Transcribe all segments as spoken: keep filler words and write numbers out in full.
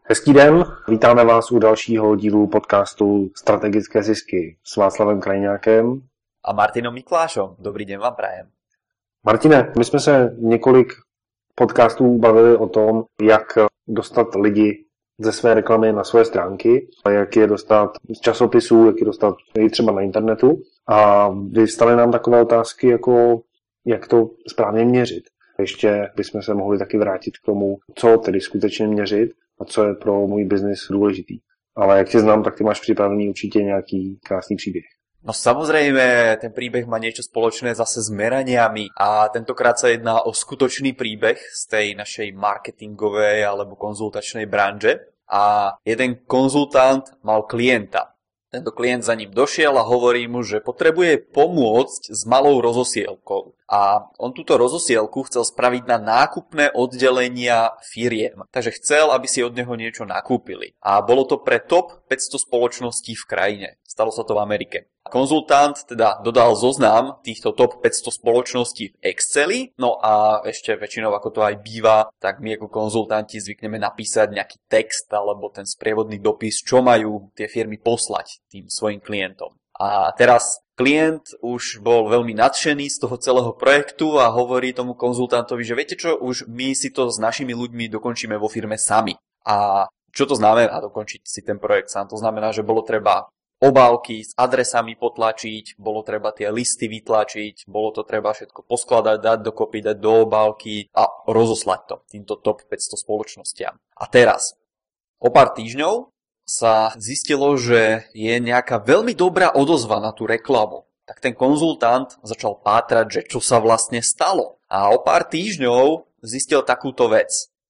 Hezký den, vítáme vás u dalšího dílu podcastu Strategické zisky s Václavem Krajňákem a Martinom Miklášom. Dobrý den vám prajem. Martine, my jsme se několik podcastů bavili o tom, jak dostat lidi ze své reklamy na svoje stránky, jak je dostat z časopisů, jak je dostat i třeba na internetu. A vystaly nám takové otázky, jako jak to správně měřit. Ještě bychom se mohli taky vrátit k tomu, co tedy skutečně měřit a co je pro můj biznis důležitý. Ale jak tě znám, tak ty máš připravený určitě nějaký krásný příběh. No samozrejme, ten príbeh má niečo spoločné zase s meraniami a tentokrát sa jedná o skutočný príbeh z tej našej marketingovej alebo konzultačnej branže. A jeden konzultant mal klienta. Tento klient za ním došiel a hovorí mu, že potrebuje pomôcť s malou rozosielkou. A on túto rozosielku chcel spraviť na nákupné oddelenia firiem. Takže chcel, aby si od neho niečo nakúpili. A bolo to pre top päťsto spoločností v krajine. Stalo sa to v Amerike. Konzultant teda dodal zoznam týchto top päťsto spoločností v Exceli, no a ešte väčšinou, ako to aj býva, tak my ako konzultanti zvykneme napísať nejaký text alebo ten sprievodný dopis, čo majú tie firmy poslať tým svojim klientom. A teraz klient už bol veľmi nadšený z toho celého projektu a hovorí tomu konzultantovi, že viete čo, už my si to s našimi ľuďmi dokončíme vo firme sami. A čo to znamená dokončiť si ten projekt sám? To znamená, že bolo treba obálky s adresami potlačiť, bolo treba tie listy vytlačiť, bolo to treba všetko poskladať, dať dokopy, dať do obálky a rozoslať to týmto top päťsto spoločnostiam. A teraz, o pár týždňov sa zistilo, že je nejaká veľmi dobrá odozva na tú reklamu. Tak ten konzultant začal pátrať, že čo sa vlastne stalo. A o pár týždňov zistil takúto vec.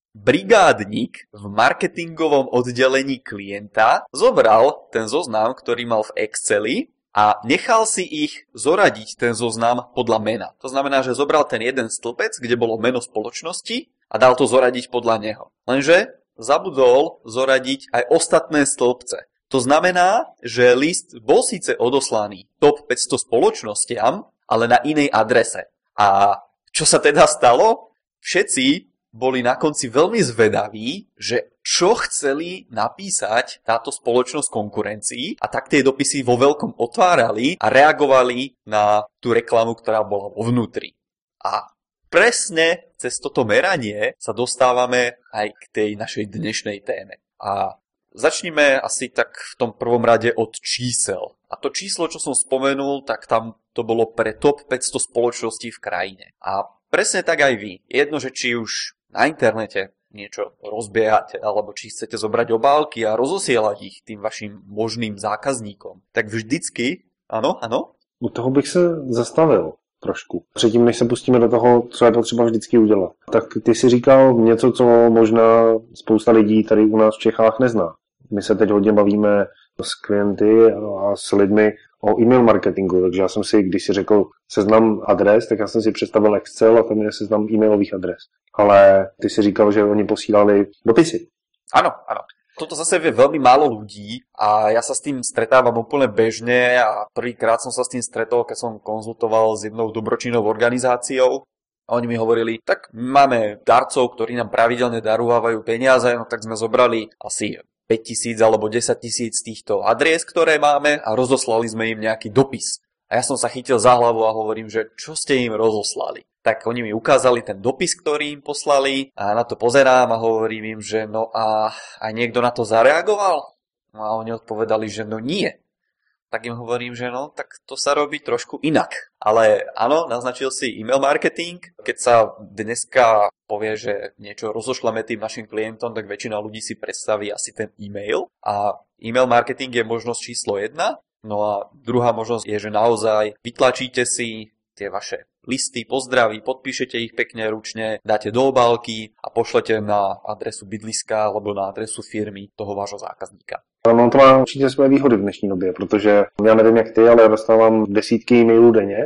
Brigádnik v marketingovom oddelení klienta zobral ten zoznam, ktorý mal v Exceli a nechal si ich zoradiť ten zoznam podľa mena. To znamená, že zobral ten jeden stĺpec, kde bolo meno spoločnosti a dal to zoradiť podľa neho. Lenže zabudol zoradiť aj ostatné stĺpce. To znamená, že list bol síce odoslaný top päťsto spoločnostiam, ale na inej adrese. A čo sa teda stalo? Všetci boli na konci veľmi zvedaví, že čo chceli napísať táto spoločnosť konkurencii a tak tie dopisy vo veľkom otvárali a reagovali na tú reklamu, ktorá bola vo vnútri. A presne cez toto meranie sa dostávame aj k tej našej dnešnej téme. A začnime asi tak v tom prvom rade od čísel. A to číslo, čo som spomenul, tak tam to bolo pre top päťsto spoločností v krajine. A presne tak aj vy. Jedno, že či už na internete niečo rozbiehate, alebo či chcete zobrať obálky a rozosielať ich tým vašim možným zákazníkom, tak vždycky, ano, ano? U toho bych se zastavil trošku. Předtím, než se pustíme do toho, co je potřeba vždycky udělat. Tak ty si říkal něco, co možná spousta lidí tady u nás v Čechách nezná. My se teď hodně bavíme s klienty a s lidmi o e-mail marketingu, takže já jsem si, když si řekl seznam adres, tak já jsem si představil Excel a tam je seznam e-mailových adres. Ale ty si říkal, že oni posílali dopisy. Áno, áno. Toto zase vie veľmi málo ľudí a ja sa s tým stretávam úplne bežne a prvýkrát som sa s tým stretol, keď som konzultoval s jednou dobročinnou organizáciou. A oni mi hovorili, tak máme darcov, ktorí nám pravidelne darúvajú peniaze, no tak sme zobrali asi päťtisíc alebo desaťtisíc týchto adries, ktoré máme a rozoslali sme im nejaký dopis. A ja som sa chytil za hlavu a hovorím, že čo ste im rozoslali? Tak oni mi ukázali ten dopis, ktorý im poslali a na to pozerám a hovorím im, že no a aj niekto na to zareagoval? No a oni odpovedali, že no nie. Tak im hovorím, že no, tak to sa robí trošku inak. Ale áno, naznačil si e-mail marketing. Keď sa dneska povie, že niečo rozošleme tým našim klientom, tak väčšina ľudí si predstaví asi ten e-mail. A e-mail marketing je možnosť číslo jedna. No a druhá možnosť je, že naozaj vytlačíte si tie vaše listy, pozdraví, podpíšete ich pekne ručne, dáte do obálky a pošlete na adresu bydliska alebo na adresu firmy toho vášho zákazníka. No to má určitě své výhody v dnešní době, protože já nevím jak ty, ale já dostávám desítky e-mailů denně,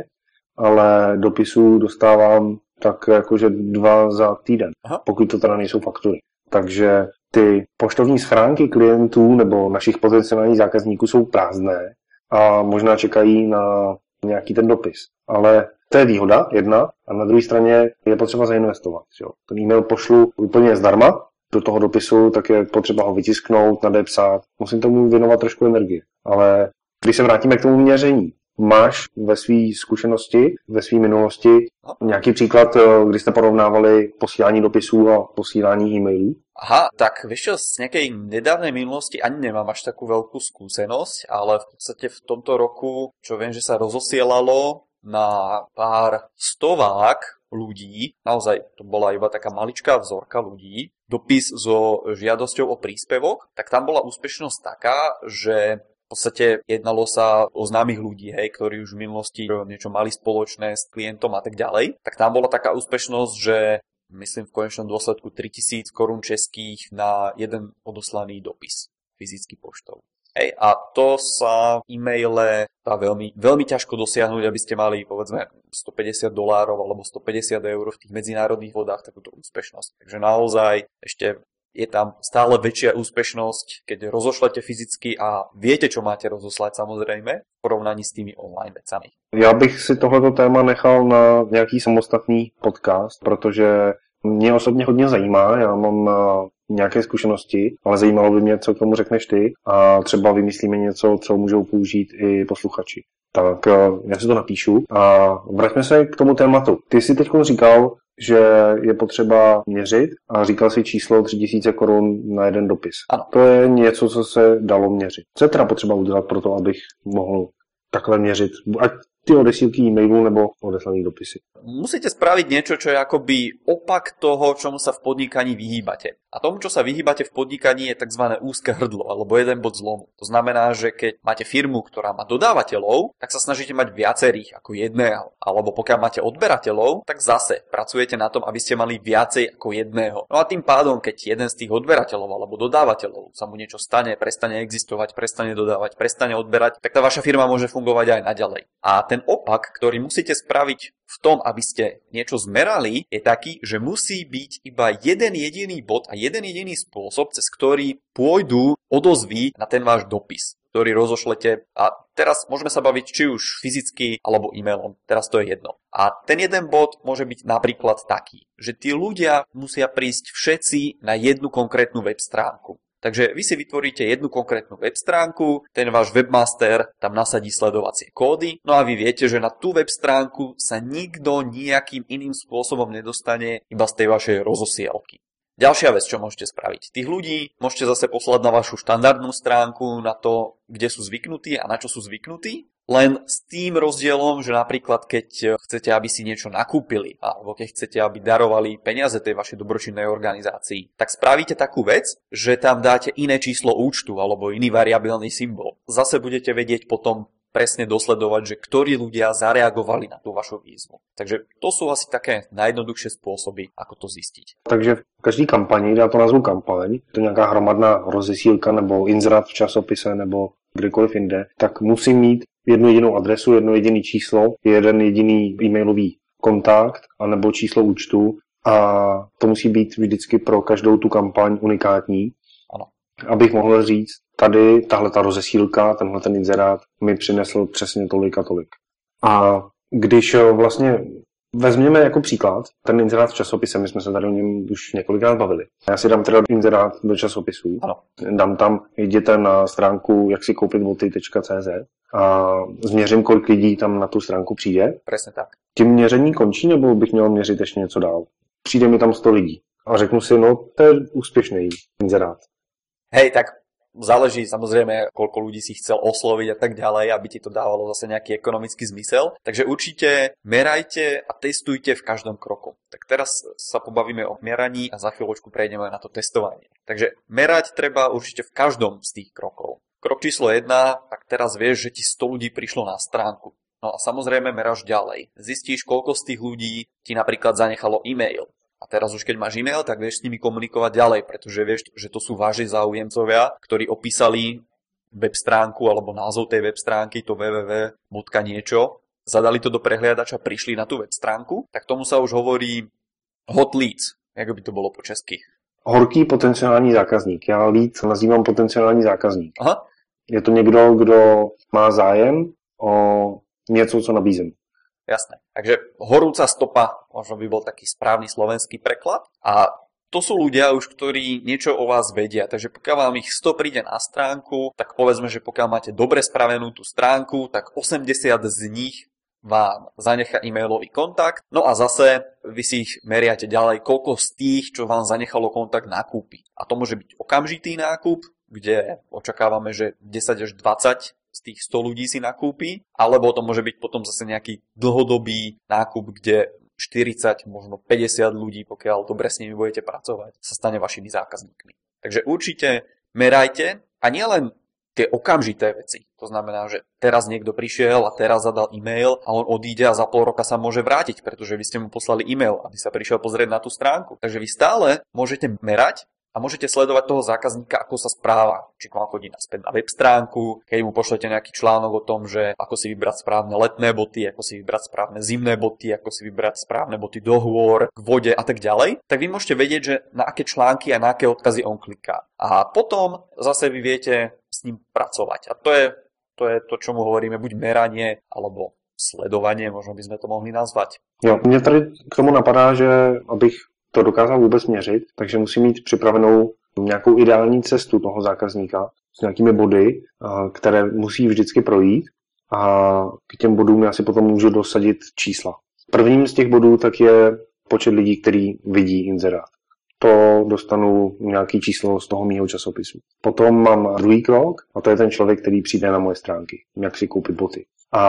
ale dopisů dostávám tak jakože dva za týden, Aha. pokud to teda nejsou faktury. Takže ty poštovní schránky klientů nebo našich potenciálních zákazníků jsou prázdné a možná čekají na nějaký ten dopis. Ale to je výhoda, jedna, a na druhé straně je potřeba zainvestovat. Jo. Ten e-mail pošlu úplně zdarma do toho dopisu, tak je potřeba ho vytisknout, nadepsat. Musím tomu věnovat trošku energie. Ale když se vrátíme k tomu měření, máš ve své zkušenosti, ve své minulosti nějaký příklad, kdy jste porovnávali posílání dopisů a posílání e-mailů? Aha, tak vieš čo, z nejakej nedávnej minulosti ani nemám až takú veľkú skúsenosť, ale v podstate v tomto roku, čo viem, že sa rozosielalo na pár stovák ľudí, naozaj to bola iba taká maličká vzorka ľudí, dopis so žiadosťou o príspevok, tak tam bola úspešnosť taká, že v podstate jednalo sa o známych ľudí, hej, ktorí už v minulosti niečo mali spoločné s klientom a tak ďalej, tak tam bola taká úspešnosť, že myslím v konečnom dôsledku tritisíc korún českých na jeden odoslaný dopis fyzicky poštou. Hej, a to sa e-maile dá veľmi, veľmi ťažko dosiahnuť, aby ste mali povedzme stopäťdesiat dolárov alebo stopäťdesiat eur v tých medzinárodných vodách takúto úspešnosť. Takže naozaj ešte je tam stále väčšia úspešnosť, keď rozošlete fyzicky a viete, čo máte rozoslať samozrejme, v porovnaní s tými online vecami. Já bych si tohleto téma nechal na nějaký samostatný podcast, protože mě osobně hodně zajímá, já mám nějaké zkušenosti, ale zajímalo by mě, co k tomu řekneš ty a třeba vymyslíme něco, co můžou použít i posluchači. Tak já si to napíšu a vraťme se k tomu tématu. Ty jsi teď říkal, že je potřeba měřit a říkal si číslo tři tisíce korun na jeden dopis. Ano. To je něco, co se dalo měřit. Co je teda potřeba udělat pro to, abych mohl takhle měřit, ať ty odesílky e-mailu nebo odeslané dopisy? Musíte spraviť niečo, čo je akoby opak toho, čomu sa v podnikaní vyhýbate. A tomu, čo sa vyhýbate v podnikaní, je tzv. Úzke hrdlo, alebo jeden bod zlomu. To znamená, že keď máte firmu, ktorá má dodávateľov, tak sa snažíte mať viacerých ako jedného. Alebo pokiaľ máte odberateľov, tak zase pracujete na tom, aby ste mali viacej ako jedného. No a tým pádom, keď jeden z tých odberateľov alebo dodávateľov sa mu niečo stane, prestane existovať, prestane dodávať, prestane odberať, tak tá vaša firma môže fungovať aj naďalej. A ten opak, ktorý musíte spraviť v tom, aby ste niečo zmerali, je taký, že musí byť iba jeden jediný bod a jeden jediný spôsob, cez ktorý pôjdu odozvy na ten váš dopis, ktorý rozošlete. A teraz môžeme sa baviť či už fyzicky alebo e-mailom. Teraz to je jedno. A ten jeden bod môže byť napríklad taký, že tí ľudia musia prísť všetci na jednu konkrétnu web stránku. Takže vy si vytvoríte jednu konkrétnu web stránku, ten váš webmaster tam nasadí sledovacie kódy, no a vy viete, že na tú web stránku sa nikto nejakým iným spôsobom nedostane iba z tej vašej rozosielky. Ďalšia vec, čo môžete spraviť. Tých ľudí môžete zase poslať na vašu štandardnú stránku, na to, kde sú zvyknutí a na čo sú zvyknutí. Len s tým rozdielom, že napríklad keď chcete, aby si niečo nakúpili, alebo keď chcete, aby darovali peniaze tej vašej dobročinnej organizácii, tak spravíte takú vec, že tam dáte iné číslo účtu alebo iný variabilný symbol. Zase budete vedieť potom presne dosledovať, že ktorí ľudia zareagovali na tú vašu výzvu. Takže to sú asi také najjednoduchšie spôsoby, ako to zistiť. Takže v každé kampani, já to nazvu kampaň, to nějaká hromadná rozesílka nebo inzerát v časopise nebo kdekoliv jinde, tak musí mít jednu jedinou adresu, jedno jediné číslo, jeden jediný e-mailový kontakt anebo číslo účtu a to musí být vždycky pro každou tu kampaň unikátní. Ano. Abych mohl říct, tady tahle ta rozesílka, tenhle ten inzerát mi přinesl přesně tolik a tolik. A když vlastně vezměme jako příklad ten inzerát v časopise, my jsme se tady o něm už několikrát bavili. Já si dám teda inzerát do časopisů, ano. Dám tam, jděte na stránku jak si koupit boty tečka cé zet a změřím, kolik lidí tam na tu stránku přijde. Presne tak. Tím měření končí, nebo bych měl měřit ještě něco dál? Přijde mi tam sto lidí a řeknu si, no to je úspěšný inzerát. Hej, tak záleží samozrejme, koľko ľudí si chcel osloviť a tak ďalej, aby ti to dávalo zase nejaký ekonomický zmysel. Takže určite merajte a testujte v každom kroku. Tak teraz sa pobavíme o meraní a za chvíľočku prejdeme na to testovanie. Takže merať treba určite v každom z tých krokov. Krok číslo jedna, tak teraz vieš, že ti sto ľudí prišlo na stránku. No a samozrejme meráš ďalej. Zistíš, koľko z tých ľudí ti napríklad zanechalo e-mail. A teraz už keď máš e-mail, tak vieš s nimi komunikovať ďalej, pretože vieš, že to sú váži záujemcovia, ktorí opísali web stránku alebo názov tej web stránky, to www bodka niečo, zadali to do prehliadača, prišli na tú web stránku, tak tomu sa už hovorí hot leads, ako by to bolo po česky. Horký potenciální zákazník. Já lead nazývám potenciální zákazník. Aha. Je to někdo, kdo má zájem o něco, co nabízím. Jasné. Takže horúca stopa, možno by bol taký správny slovenský preklad. A to sú ľudia už, ktorí niečo o vás vedia, takže pokiaľ vám ich sto príde na stránku, tak povedzme, že pokiaľ máte dobre spravenú tú stránku, tak osemdesiat z nich vám zanechá e-mailový kontakt. No a zase vy si ich meriate ďalej, koľko z tých, čo vám zanechalo kontakt, nakúpi. A to môže byť okamžitý nákup, kde očakávame, že desať až dvadsať z tých sto ľudí si nakúpi, alebo to môže byť potom zase nejaký dlhodobý nákup, kde štyridsať, možno päťdesiat ľudí, pokiaľ dobre s nimi budete pracovať, sa stane vašimi zákazníkmi. Takže určite merajte a nielen tie okamžité veci. To znamená, že teraz niekto prišiel a teraz zadal e-mail a on odíde a za pol roka sa môže vrátiť, pretože vy ste mu poslali e-mail, aby sa prišiel pozrieť na tú stránku. Takže vy stále môžete merať a môžete sledovať toho zákazníka, ako sa správa. Či k vám chodí naspäť na web stránku, keď mu pošlete nejaký článok o tom, že ako si vybrať správne letné boty, ako si vybrať správne zimné boty, ako si vybrať správne boty do hôr, k vode a tak ďalej, tak vy môžete vedieť, že na aké články a na aké odkazy on kliká. A potom zase vy viete s ním pracovať. A to je to, je to čomu hovoríme buď meranie, alebo sledovanie, možno by sme to mohli nazvať. Jo, mě tady k tomu napadá, že abych to dokázal vůbec měřit, takže musím mít připravenou nějakou ideální cestu toho zákazníka s nějakými body, které musí vždycky projít a k těm bodům já si potom můžu dosadit čísla. Prvním z těch bodů tak je počet lidí, který vidí inzerát. To dostanu nějaký číslo z toho mýho časopisu. Potom mám druhý krok a to je ten člověk, který přijde na moje stránky, jak si koupit boty.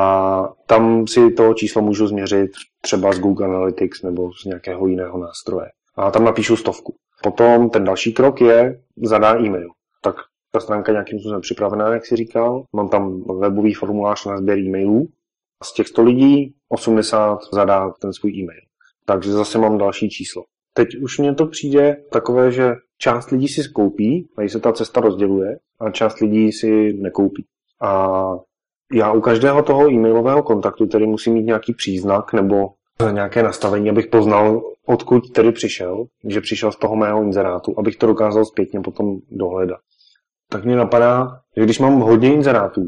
A tam si to číslo můžu změřit třeba z Google Analytics nebo z nějakého jiného nástroje. A tam napíšu stovku. Potom ten další krok je zadá e-mail. Tak ta stránka nějakým způsobem připravená, jak si říkal. Mám tam webový formulář na sběr e-mailů. Z těch sto lidí osmdesát zadá ten svůj e-mail. Takže zase mám další číslo. Teď už mně to přijde takové, že část lidí si skoupí, tady se ta cesta rozděluje, a část lidí si nekoupí. A já u každého toho e-mailového kontaktu tedy musím mít nějaký příznak nebo nějaké nastavení, abych poznal, odkud tedy přišel, že přišel z toho mého inzerátu, abych to dokázal zpětně potom dohledat. Tak mě napadá, že když mám hodně inzerátů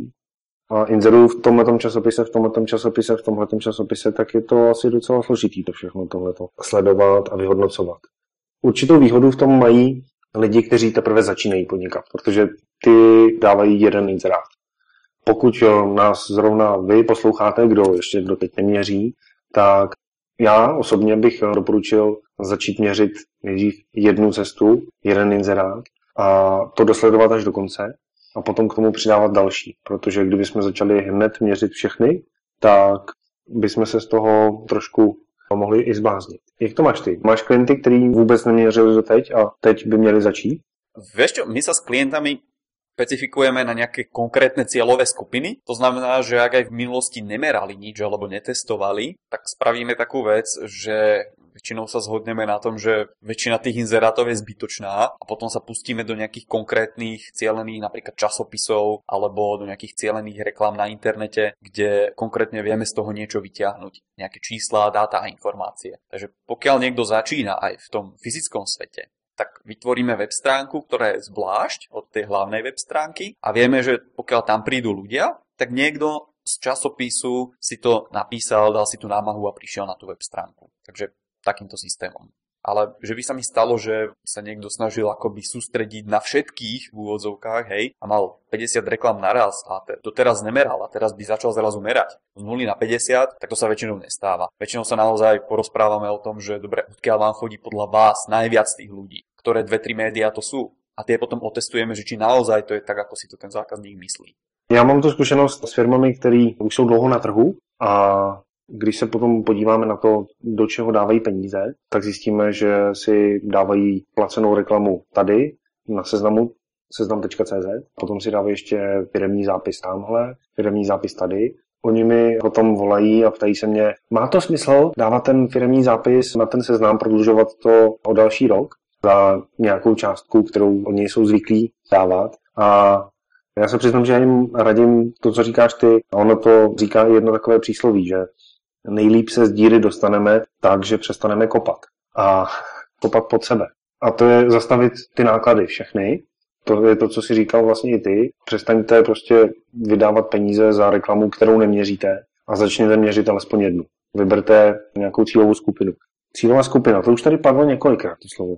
a inzeruju v tomhletom časopise, v tomhletom časopise, v tomhletom časopise, tak je to asi docela složitý to všechno tohleto sledovat a vyhodnocovat. Určitou výhodu v tom mají lidi, kteří teprve začínají podnikat, protože ty dávají jeden inzerát. Pokud nás zrovna vy posloucháte, kdo ještě kdo teď neměří, tak já osobně bych doporučil začít měřit nejdřív jednu cestu, jeden inzerát a to dosledovat až do konce a potom k tomu přidávat další, protože kdybychom začali hned měřit všechny, tak bychom se z toho trošku mohli i zbláznit. Jak to máš ty? Máš klienty, který vůbec neměřili doteď a teď by měli začít? Vieš čo, my sa s klientami špecifikujeme na nejaké konkrétne cieľové skupiny. To znamená, že ak aj v minulosti nemerali nič alebo netestovali, tak spravíme takú vec, že väčšinou sa zhodneme na tom, že väčšina tých inzerátov je zbytočná a potom sa pustíme do nejakých konkrétnych cielených napríklad časopisov alebo do nejakých cielených reklám na internete, kde konkrétne vieme z toho niečo vyťahnuť. Nejaké čísla, dáta a informácie. Takže pokiaľ niekto začína aj v tom fyzickom svete, tak vytvoríme web stránku, ktorá je zvlášť od tej hlavnej web stránky a vieme, že pokiaľ tam prídu ľudia, tak niekto z časopisu si to napísal, dal si tú námahu a prišiel na tú web stránku. Takže takýmto systémom. Ale že by sa mi stalo, že sa niekto snažil akoby sústrediť na všetkých v úvodzovkách, hej, a mal päťdesiat reklám naraz a te, to teraz nemeral a teraz by začal zrazu merať z nuly na päťdesiat, tak to sa väčšinou nestáva. Väčšinou sa naozaj porozprávame o tom, že dobre, odkiaľ vám chodí podľa vás najviac tých ľudí, ktoré dve tri médiá to sú. A tie potom otestujeme, že či naozaj to je tak, ako si to ten zákazník myslí. Já mám tu zkušenost s firmami, které už jsou dlouho na trhu a když se potom podíváme na to, do čeho dávají peníze, tak zjistíme, že si dávají placenou reklamu tady na seznamu seznam tečka cé zet, potom si dávají ještě firemní zápis tamhle, firemní zápis tady. Oni mi potom volají a ptají se mě, má to smysl dávat ten firemní zápis na ten seznam, prodlužovat to o další rok za nějakou částku, kterou oni jsou zvyklí dávat. A já se přiznám, že já jim radím to, co říkáš ty. A ono to říká jedno takové přísloví, že nejlíp se z díry dostaneme tak, že přestaneme kopat. A kopat pod sebe. A to je zastavit ty náklady všechny. To je to, co si říkal vlastně i ty. Přestaňte prostě vydávat peníze za reklamu, kterou neměříte a začněte měřit alespoň jednu. Vyberte nějakou cílovou skupinu. Cílová skupina, to už tady padlo několikrát, to slovo.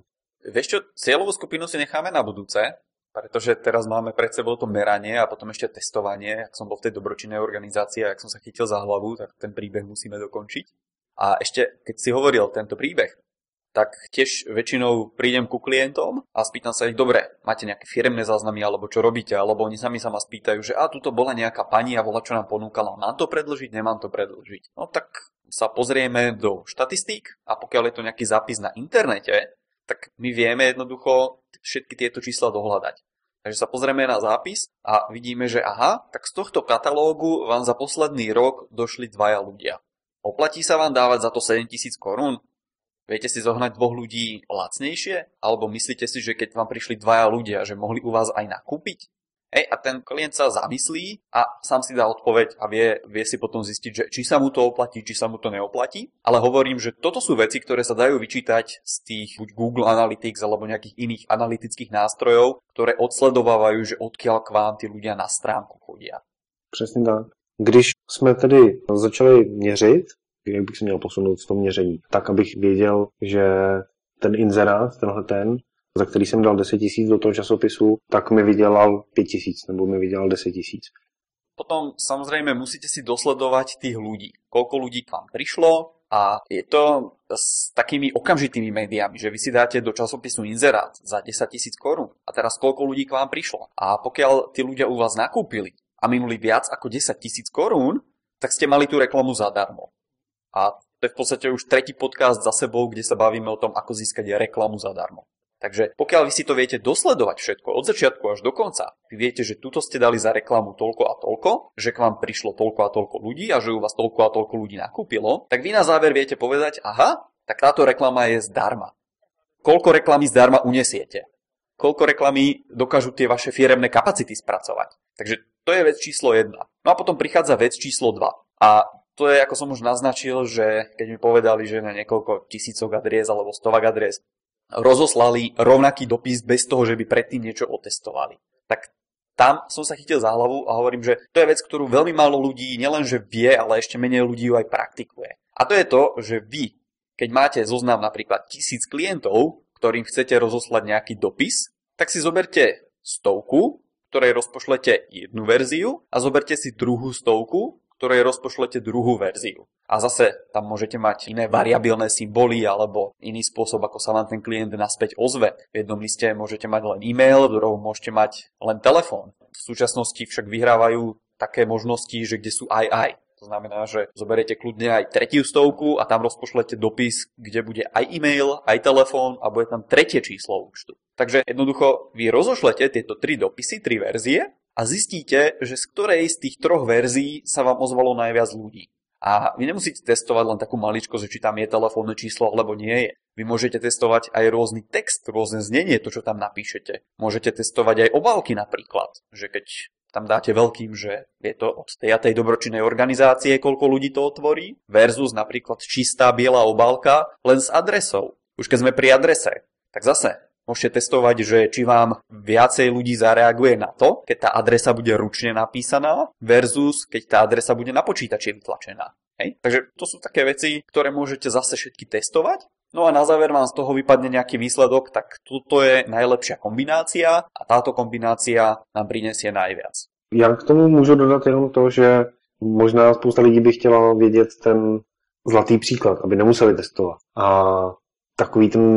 Vieš čo, cieľovú skupinu si necháme na budúce, pretože teraz máme pred sebou to meranie a potom ešte testovanie. Ak som bol v tej dobročinnej organizácii a ak som sa chytil za hlavu, tak ten príbeh musíme dokončiť. A ešte, keď si hovoril tento príbeh, tak tiež väčšinou prídem ku klientom a spýtam sa ich, dobre, máte nejaké firemné záznamy alebo čo robíte, alebo oni sami sa ma spýtajú, že a tuto bola nejaká pani a bola čo nám ponúkala, mám to predĺžiť, nemám to predĺžiť. No tak sa pozrieme do štatistík a pokiaľ je to nejaký zápis na internete, tak my vieme jednoducho všetky tieto čísla dohľadať. Takže sa pozrieme na zápis a vidíme, že aha, tak z tohto katalógu vám za posledný rok došli dvaja ľudia. Oplatí sa vám dávať za to sedemtisíc korún? Viete si zohnať dvoch ľudí lacnejšie? Alebo myslíte si, že keď vám prišli dvaja ľudia, že mohli u vás aj nakúpiť? Hej, a ten klient sa zamyslí a sám si dá odpoveď a vie, vie si potom zistiť, že či sa mu to oplatí, či sa mu to neoplatí. Ale hovorím, že toto sú veci, ktoré sa dajú vyčítať z tých buď Google Analytics alebo nejakých iných analytických nástrojov, ktoré odsledovávajú, že odkiaľ k vám tí ľudia na stránku chodia. Přesně tak. Když jsme tedy začali měřit, jak bych se měl posunout v tom měření, tak abych věděl, že ten inzerát, tenhle ten, za který jsem dal deset tisíc do toho časopisu, tak mi vydělal pět tisíc, nebo mi vydělal deset tisíc. Potom samozrejme musíte si dosledovať tých ľudí. Koľko ľudí k vám prišlo a je to s takými okamžitými médiami, že vy si dáte do časopisu inzerát za desať tisíc korún a teraz koľko ľudí k vám prišlo. A pokiaľ tí ľudia u vás nakúpili a minuli viac ako desať tisíc korún, tak ste mali tú reklamu zadarmo. A to je v podstate už tretí podcast za sebou, kde sa bavíme o tom, ako získať reklamu zadarmo. Takže pokiaľ vy si to viete dosledovať všetko od začiatku až do konca, vy viete, že tuto ste dali za reklamu toľko a toľko, že k vám prišlo toľko a toľko ľudí a že u vás toľko a toľko ľudí nakúpilo, tak vy na záver viete povedať, aha, tak táto reklama je zdarma. Koľko reklamy zdarma unesiete? Koľko reklamy dokážu tie vaše firemné kapacity spracovať? Takže to je vec číslo jedna. No a potom prichádza vec číslo dva. A to je, ako som už naznačil, že keď mi povedali, že na niekoľko tisícok adries alebo stovak adries rozoslali rovnaký dopis bez toho, že by predtým niečo otestovali. Tak tam som sa chytil za hlavu a hovorím, že to je vec, ktorú veľmi málo ľudí nielenže vie, ale ešte menej ľudí ju aj praktikuje. A to je to, že vy, keď máte zoznam napríklad tisíc klientov, ktorým chcete rozoslať nejaký dopis, tak si zoberte stovku, ktorej rozpošlete jednu verziu a zoberte si druhú stovku, ktorej rozpošlete druhú verziu. A zase tam môžete mať iné variabilné symboly alebo iný spôsob, ako sa vám ten klient naspäť ozve. V jednom liste môžete mať len e-mail, v druhom môžete mať len telefón. V súčasnosti však vyhrávajú také možnosti, že kde sú aj aj. To znamená, že zoberiete kľudne aj tretiu stovku a tam rozpošlete dopis, kde bude aj e-mail, aj telefón a bude tam tretie číslo účtu. Takže jednoducho vy rozošlete tieto tri dopisy, tri verzie a zistíte, že z ktorej z tých troch verzií sa vám ozvalo najviac ľudí. A vy nemusíte testovať len takú maličkosť, že či tam je telefónne číslo alebo nie je. Vy môžete testovať aj rôzny text, rôzne znenie, to čo tam napíšete. Môžete testovať aj obálky napríklad, že keď tam dáte veľkým, že je to od tej a tej dobročinnej organizácie, koľko ľudí to otvorí, versus napríklad čistá biela obálka len s adresou. Už keď sme pri adrese, tak zase môžete testovať, že či vám viacej ľudí zareaguje na to, keď tá adresa bude ručne napísaná versus keď tá adresa bude na počítači vytlačená. Hej? Takže to sú také veci, ktoré môžete zase všetky testovať. No a na záver vám z toho vypadne nejaký výsledok, tak toto je najlepšia kombinácia a táto kombinácia nám prinesie najviac. Já k tomu můžu dodat jenom to, že možná spousta lidí by chtěla vědět ten zlatý příklad, aby nemuseli testovat. A takový ten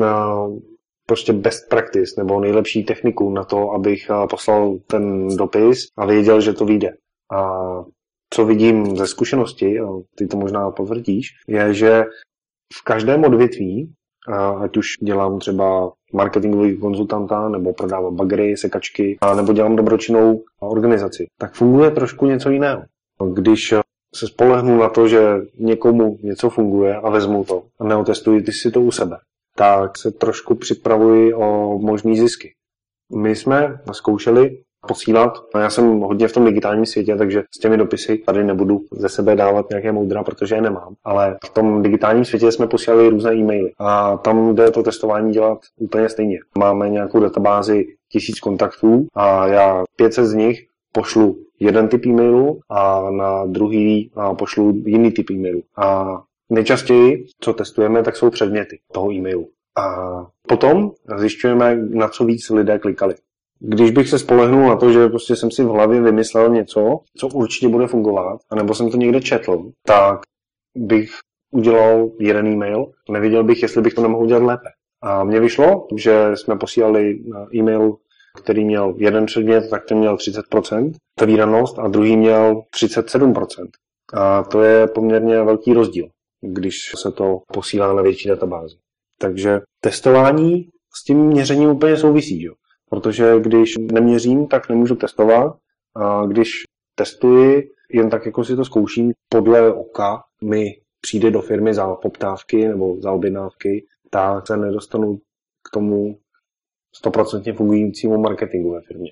prostě best practice nebo nejlepší techniku na to, abych poslal ten dopis a věděl, že to vyjde. A co vidím ze zkušenosti, a ty to možná potvrdíš, je, že v každém odvětví, ať už dělám třeba marketingový konzultanta, nebo prodávám bagery, sekačky, nebo dělám dobročinnou organizaci, tak funguje trošku něco jiného. Když se spolehnu na to, že někomu něco funguje a vezmu to a neotestuji ty si to u sebe, tak se trošku připravuji o možný zisky. My jsme zkoušeli posílat, a já jsem hodně v tom digitálním světě, takže s těmi dopisy tady nebudu ze sebe dávat nějaké moudra, protože je nemám, ale v tom digitálním světě jsme posílali různé e-maily a tam jde to testování dělat úplně stejně. Máme nějakou databázi tisíc kontaktů a já pět set z nich pošlu jeden typ e-mailu a na druhý pošlu jiný typ e-mailu. A nejčastěji, co testujeme, tak jsou předměty toho e-mailu. A potom zjišťujeme, na co víc lidé klikali. Když bych se spolehnul na to, že prostě jsem si v hlavě vymyslel něco, co určitě bude fungovat, anebo jsem to někde četl, tak bych udělal jeden e-mail, nevěděl bych, jestli bych to nemohl udělat lépe. A mně vyšlo, že jsme posílali e-mail, který měl jeden předmět, tak ten měl třicet procent otevíranost a druhý měl třicet sedm procent. A to je poměrně velký rozdíl, když se to posílá na větší databázi. Takže testování s tím měřením úplně souvisí, jo? Protože když neměřím, tak nemůžu testovat. A když testuji, jen tak jako si to zkouším, podle oka mi přijde do firmy za poptávky nebo za objednávky, tak se nedostanu k tomu sto procent fungujícímu marketingu ve firmě.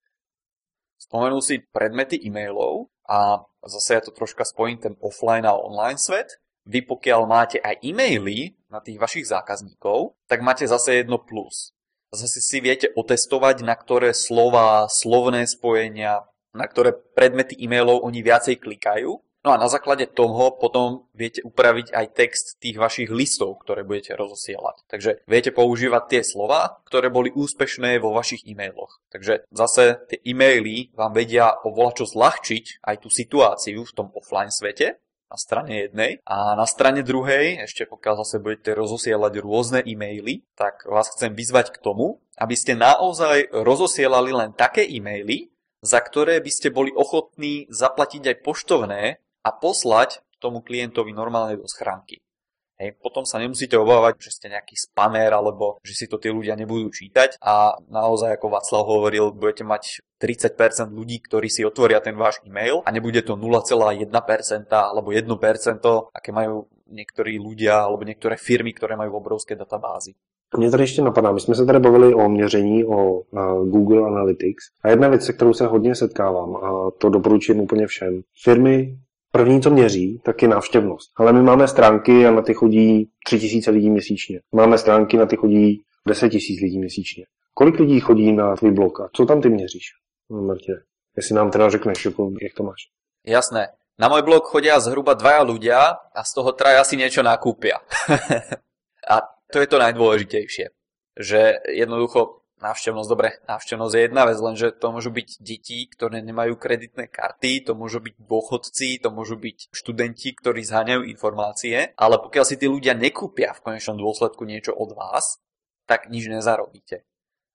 Spomenul si predmety e-mailov a zase ja to troška spojím ten offline a online svet. Vy pokiaľ máte aj e-maily na tých vašich zákazníkov, tak máte zase jedno plus. Zase si viete otestovať, na ktoré slova, slovné spojenia, na ktoré predmety e-mailov oni viacej klikajú. No a na základe toho potom viete upraviť aj text tých vašich listov, ktoré budete rozosielať. Takže viete používať tie slova, ktoré boli úspešné vo vašich e-mailoch. Takže zase tie e-maily vám vedia o volačo zľahčiť aj tú situáciu v tom offline svete na strane jednej. A na strane druhej, ešte pokiaľ zase budete rozosielať rôzne e-maily, tak vás chcem vyzvať k tomu, aby ste naozaj rozosielali len také e-maily, za ktoré by ste boli ochotní zaplatiť aj poštovné a poslať tomu klientovi normálne do schránky. Hej, potom sa nemusíte obávať, že ste nejaký spamer alebo že si to tí ľudia nebudú čítať a naozaj, ako Václav hovoril, budete mať tridsať percent ľudí, ktorí si otvoria ten váš e-mail a nebude to nula celá jedna percent alebo jedno percento, aké majú niektorí ľudia alebo niektoré firmy, ktoré majú obrovské databázy. Mě tady ještě napadá, my jsme se tady bavili o měření, o Google Analytics a jedna věc, se kterou se hodně setkávám a to doporučím úplně všem. Firmy první, co měří, tak je návštěvnost. Ale my máme stránky a na ty chodí tři tisíce lidí měsíčně. Máme stránky, na ty chodí deset tisíc lidí měsíčně. Kolik lidí chodí na tvůj blog a co tam ty měříš? No, Martine, jestli nám teda řekneš, jak to máš. Jasné. Na môj blog chodia zhruba dvaja ľudia a z toho traja si niečo nakúpia. A to je to najdôležitejšie, že jednoducho návštevnosť, dobre, návštevnosť je jedna vec, lenže to môžu byť deti, ktoré nemajú kreditné karty, to môžu byť dôchodci, to môžu byť študenti, ktorí zháňajú informácie, ale pokiaľ si tí ľudia nekúpia v konečnom dôsledku niečo od vás, tak nič nezarobíte.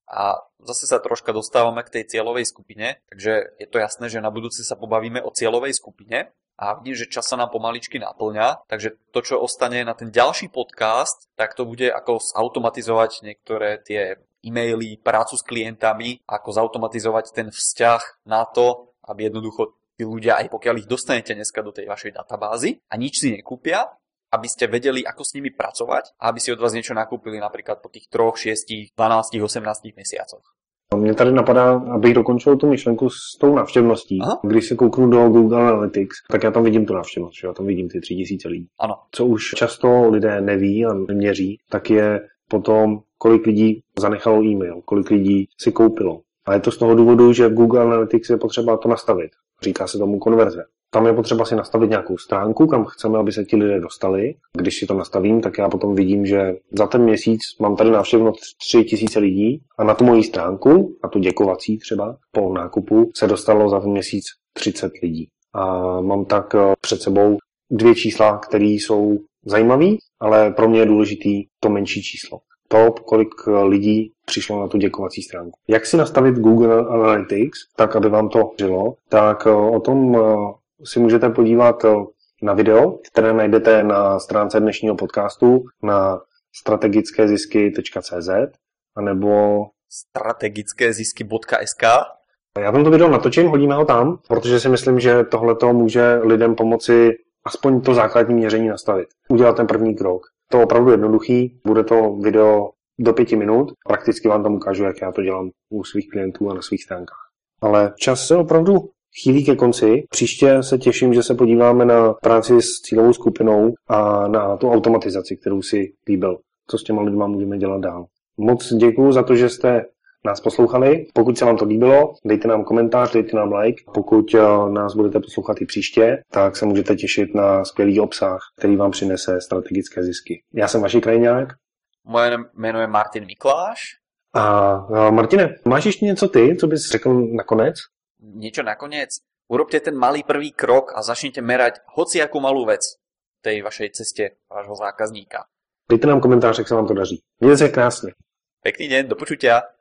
A zase sa troška dostávame k tej cieľovej skupine, takže je to jasné, že na budúce sa pobavíme o cieľovej skupine. A vidím, že čas sa nám pomaličky naplňa, takže to, čo ostane na ten ďalší podcast, tak to bude ako zautomatizovať niektoré tie e-maily, prácu s klientami, ako zautomatizovať ten vzťah na to, aby jednoducho tí ľudia, aj pokiaľ ich dostanete dneska do tej vašej databázy a nič si nekúpia, aby ste vedeli, ako s nimi pracovať a aby si od vás niečo nakúpili napríklad po tých troch, šiestich, dvanástich, osemnástich mesiacoch. Mně tady napadá, abych dokončil tu myšlenku s tou návštěvností. Aha. Když se kouknu do Google Analytics, tak já tam vidím tu návštěvnost, že já tam vidím ty tři tisíce lidí. Ano. Co už často lidé neví a neměří, tak je potom, kolik lidí zanechalo e-mail, kolik lidí si koupilo. A je to z toho důvodu, že v Google Analytics je potřeba to nastavit. Říká se tomu konverze. Tam je potřeba si nastavit nějakou stránku, kam chceme, aby se ti lidé dostali. Když si to nastavím, tak já potom vidím, že za ten měsíc mám tady návštěvnost tři tisíce lidí a na tu moji stránku, na tu děkovací třeba, po nákupu, se dostalo za ten měsíc třicet lidí. A mám tak před sebou dvě čísla, které jsou zajímavé, ale pro mě je důležitý to menší číslo. To, kolik lidí přišlo na tu děkovací stránku. Jak si nastavit Google Analytics, tak aby vám to žilo, tak o tom si můžete podívat na video, které najdete na stránce dnešního podcastu na strategické zisky tečka cé zet anebo strategické zisky tečka es ká. Já tam to video natočím, hodíme ho tam, protože si myslím, že tohleto může lidem pomoci aspoň to základní měření nastavit. Udělat ten první krok. To je opravdu jednoduchý, bude to video do pěti minut, prakticky vám tam ukážu, jak já to dělám u svých klientů a na svých stránkách. Ale čas se opravdu chýlí ke konci. Příště se těším, že se podíváme na práci s cílovou skupinou a na tu automatizaci, kterou si líbil. Co s těma lidma můžeme dělat dál. Moc děkuju za to, že jste nás poslouchali. Pokud se vám to líbilo, dejte nám komentář, dejte nám like. Pokud nás budete poslouchat i příště, tak se můžete těšit na skvělý obsah, který vám přinese strategické zisky. Já jsem Vašek Krajňák Moje jméno je Martin Mikláš. A, a Martine, máš ještě něco ty, co bys řekl nakonec? Niečo nakoniec? Urobte ten malý prvý krok a začnite merať hociakú malú vec v tej vašej ceste vášho zákazníka. Dejte nám komentář, jak se vám to daří. Mějte se krásně. Pekný deň, do počutia.